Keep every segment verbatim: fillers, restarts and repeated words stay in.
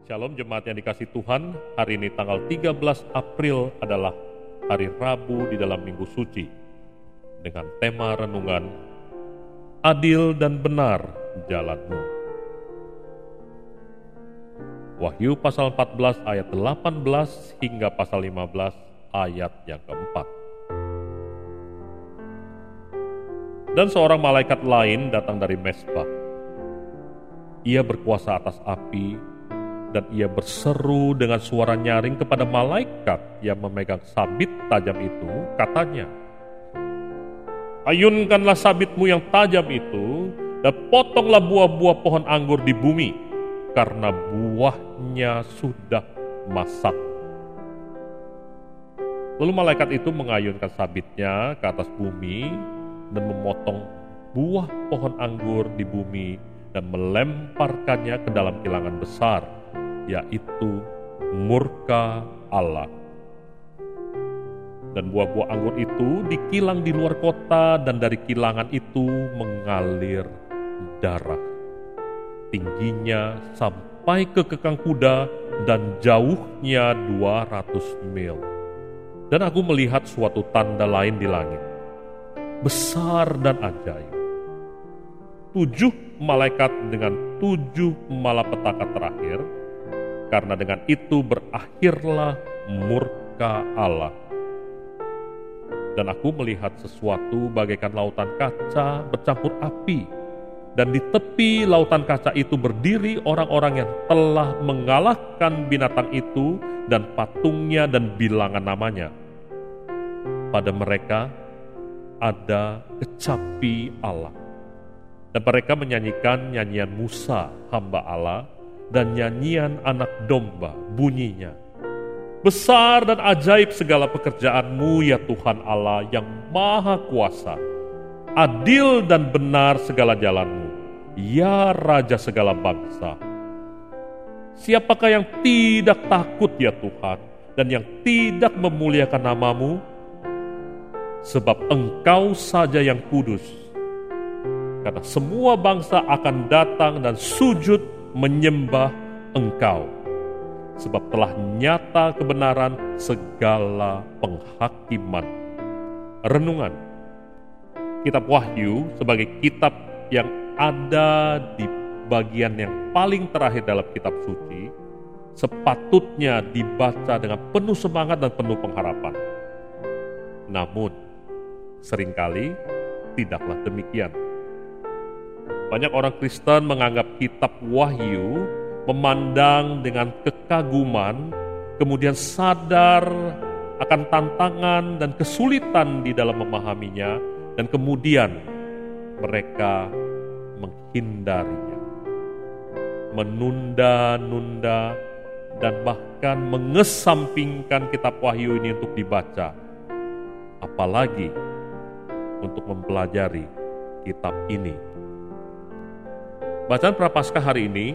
Shalom jemaat yang dikasih Tuhan, hari ini tanggal tiga belas April adalah hari Rabu di dalam Minggu Suci dengan tema renungan Adil dan Benar Jalanmu. Wahyu pasal empat belas ayat delapan belas hingga pasal lima belas ayat yang keempat. Dan seorang malaikat lain datang dari Mesbah. Ia berkuasa atas api, dan ia berseru dengan suara nyaring kepada malaikat yang memegang sabit tajam itu, katanya, "Ayunkanlah sabitmu yang tajam itu, dan potonglah buah-buah pohon anggur di bumi, karena buahnya sudah masak." Lalu malaikat itu mengayunkan sabitnya ke atas bumi, dan memotong buah pohon anggur di bumi, dan melemparkannya ke dalam kilangan besar, yaitu murka Allah. Dan buah-buah anggur itu dikilang di luar kota, dan dari kilangan itu mengalir darah. Tingginya sampai ke kekang kuda, dan jauhnya dua ratus mil. Dan aku melihat suatu tanda lain di langit, besar dan ajaib. Tujuh malaikat dengan tujuh malapetaka terakhir, karena dengan itu berakhirlah murka Allah. Dan aku melihat sesuatu bagaikan lautan kaca bercampur api, dan di tepi lautan kaca itu berdiri orang-orang yang telah mengalahkan binatang itu dan patungnya dan bilangan namanya. Pada mereka ada kecapi Allah. Dan mereka menyanyikan nyanyian Musa, hamba Allah, dan nyanyian anak domba, bunyinya, "Besar dan ajaib segala pekerjaanmu ya Tuhan Allah yang maha kuasa. Adil dan benar segala jalanmu, ya Raja segala bangsa. Siapakah yang tidak takut ya Tuhan, dan yang tidak memuliakan namamu? Sebab Engkau saja yang kudus. Karena semua bangsa akan datang dan sujud menyembah Engkau, sebab telah nyata kebenaran segala penghakiman." Renungan Kitab Wahyu sebagai kitab yang ada di bagian yang paling terakhir dalam kitab suci, sepatutnya dibaca dengan penuh semangat dan penuh pengharapan. Namun, seringkali tidaklah demikian. Banyak orang Kristen menganggap kitab Wahyu, memandang dengan kekaguman, kemudian sadar akan tantangan dan kesulitan di dalam memahaminya, dan kemudian mereka menghindarinya, menunda-nunda, dan bahkan mengesampingkan kitab Wahyu ini untuk dibaca, apalagi untuk mempelajari kitab ini. Bacaan Prapaskah hari ini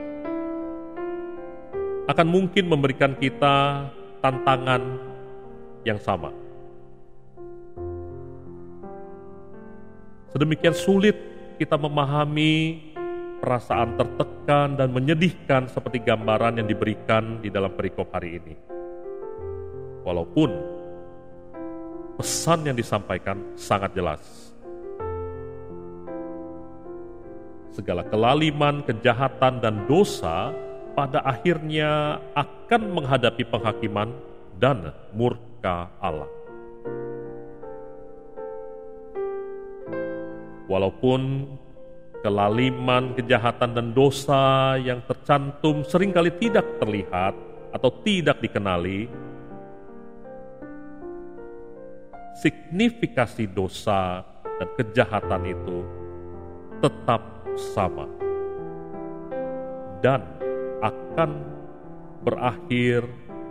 akan mungkin memberikan kita tantangan yang sama. Sedemikian sulit kita memahami perasaan tertekan dan menyedihkan seperti gambaran yang diberikan di dalam perikop hari ini. Walaupun pesan yang disampaikan sangat jelas. Segala kelaliman, kejahatan, dan dosa pada akhirnya akan menghadapi penghakiman dan murka Allah. Walaupun kelaliman, kejahatan, dan dosa yang tercantum seringkali tidak terlihat atau tidak dikenali, signifikasi dosa dan kejahatan itu tetap sama dan akan berakhir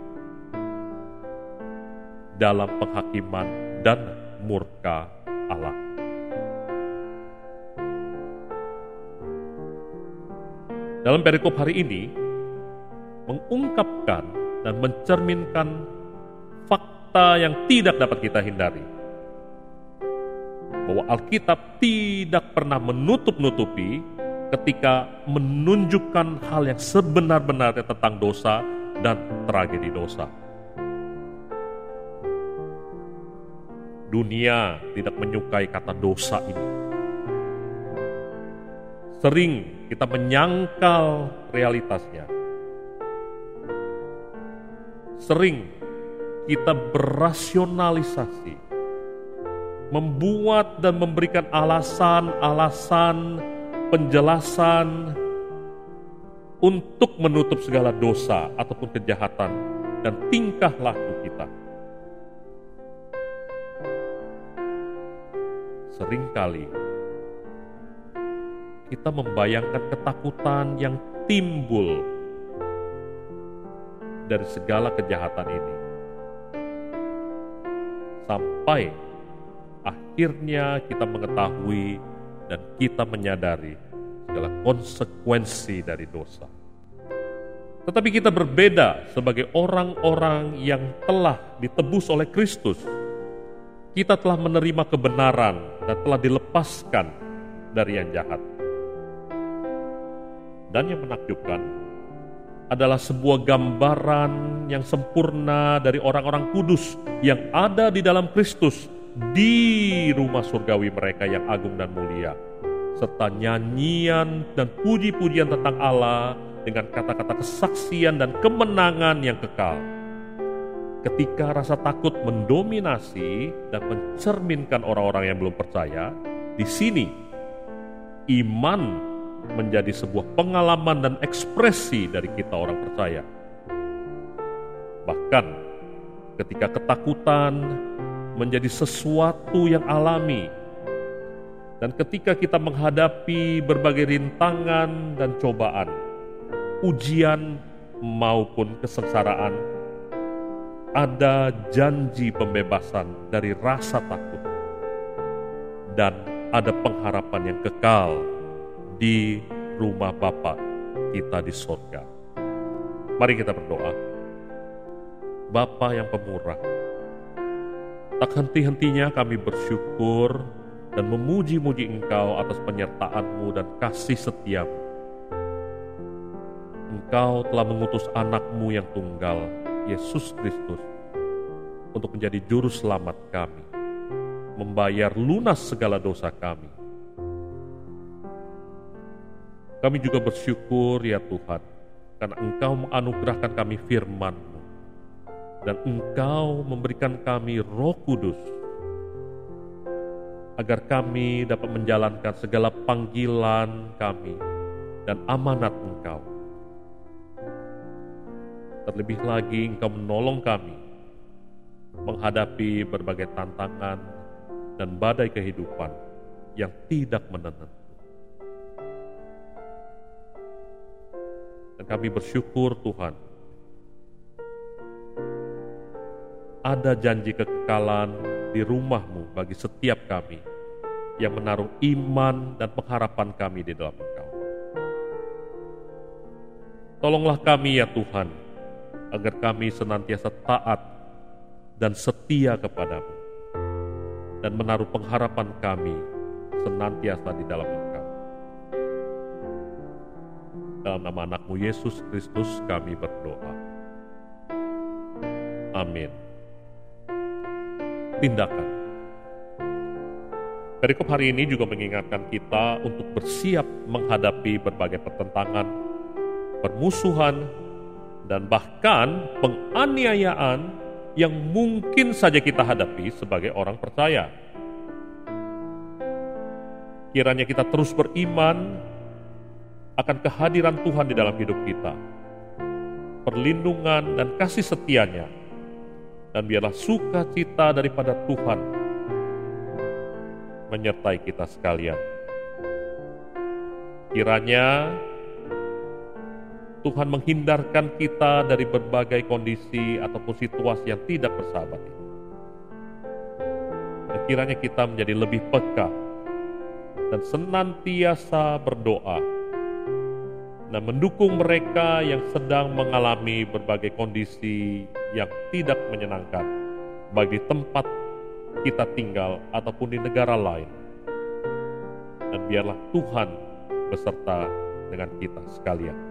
dalam penghakiman dan murka Allah. Dalam perikop hari ini mengungkapkan dan mencerminkan fakta yang tidak dapat kita hindari, bahwa Alkitab tidak pernah menutup-nutupi ketika menunjukkan hal yang sebenar-benarnya tentang dosa dan tragedi dosa. Dunia tidak menyukai kata dosa ini. Sering kita menyangkal realitasnya. Sering kita berasionalisasi, membuat dan memberikan alasan-alasan, penjelasan untuk menutup segala dosa ataupun kejahatan dan tingkah laku kita. Seringkali kita membayangkan ketakutan yang timbul dari segala kejahatan ini. Sampai akhirnya kita mengetahui dan kita menyadari segala konsekuensi dari dosa. Tetapi kita berbeda sebagai orang-orang yang telah ditebus oleh Kristus. Kita telah menerima kebenaran dan telah dilepaskan dari yang jahat. Dan yang menakjubkan adalah sebuah gambaran yang sempurna dari orang-orang kudus yang ada di dalam Kristus di rumah surgawi mereka yang agung dan mulia, serta nyanyian dan puji-pujian tentang Allah dengan kata-kata kesaksian dan kemenangan yang kekal. Ketika rasa takut mendominasi dan mencerminkan orang-orang yang belum percaya, di sini iman menjadi sebuah pengalaman dan ekspresi dari kita orang percaya. Bahkan ketika ketakutan menjadi sesuatu yang alami, dan ketika kita menghadapi berbagai rintangan dan cobaan, ujian maupun kesengsaraan, ada janji pembebasan dari rasa takut dan ada pengharapan yang kekal di rumah Bapa kita di surga. Mari kita berdoa. Bapa yang pemurah, tak henti-hentinya kami bersyukur dan memuji-muji Engkau atas penyertaan-Mu dan kasih setia-Mu. Engkau telah mengutus anak-Mu yang tunggal, Yesus Kristus, untuk menjadi juru selamat kami, membayar lunas segala dosa kami. Kami juga bersyukur ya Tuhan, karena Engkau menganugerahkan kami firman-Mu, dan Engkau memberikan kami Roh Kudus, agar kami dapat menjalankan segala panggilan kami dan amanat Engkau. Terlebih lagi Engkau menolong kami menghadapi berbagai tantangan dan badai kehidupan yang tidak menentu. Dan kami bersyukur Tuhan, ada janji kekekalan di rumah-Mu bagi setiap kami yang menaruh iman dan pengharapan kami di dalam Engkau. Tolonglah kami ya Tuhan, agar kami senantiasa taat dan setia kepada-Mu, dan menaruh pengharapan kami senantiasa di dalam Engkau. Dalam nama anak-Mu Yesus Kristus kami berdoa. Amin. Tindakan. Perikop hari ini juga mengingatkan kita untuk bersiap menghadapi berbagai pertentangan, permusuhan, dan bahkan penganiayaan yang mungkin saja kita hadapi sebagai orang percaya. Kiranya kita terus beriman akan kehadiran Tuhan di dalam hidup kita, perlindungan dan kasih setia-Nya, dan biarlah sukacita daripada Tuhan menyertai kita sekalian. Kiranya Tuhan menghindarkan kita dari berbagai kondisi ataupun situasi yang tidak bersahabat ini. Dan kiranya kita menjadi lebih peka dan senantiasa berdoa dan mendukung mereka yang sedang mengalami berbagai kondisi yang tidak menyenangkan, baik di tempat kita tinggal ataupun di negara lain. Dan biarlah Tuhan beserta dengan kita sekalian.